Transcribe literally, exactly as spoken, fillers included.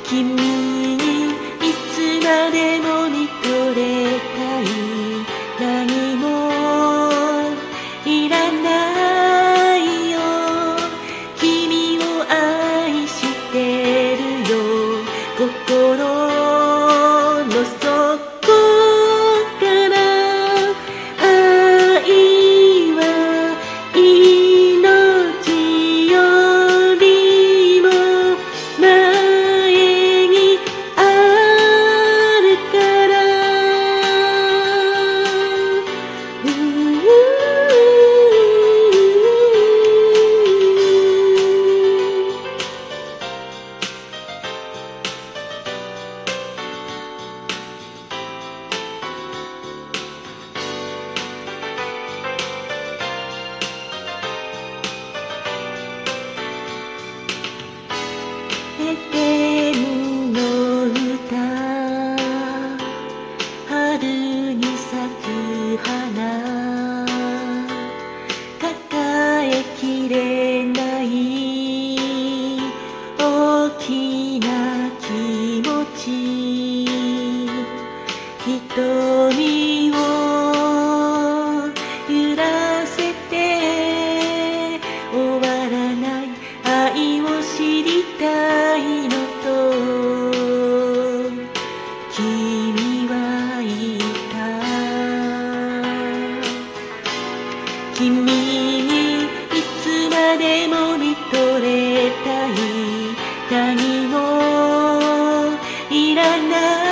君にいつまでも見とれたい。何もいらないよ。君を愛してるよ。心の底から愛は命よりも前にあるから。うエデンの歌、春に咲く花、抱えきれない大きな気持ち、瞳を揺らせて終わらない愛を知りたいのと君は言った。君にいつまでも見とれたい。何もいらない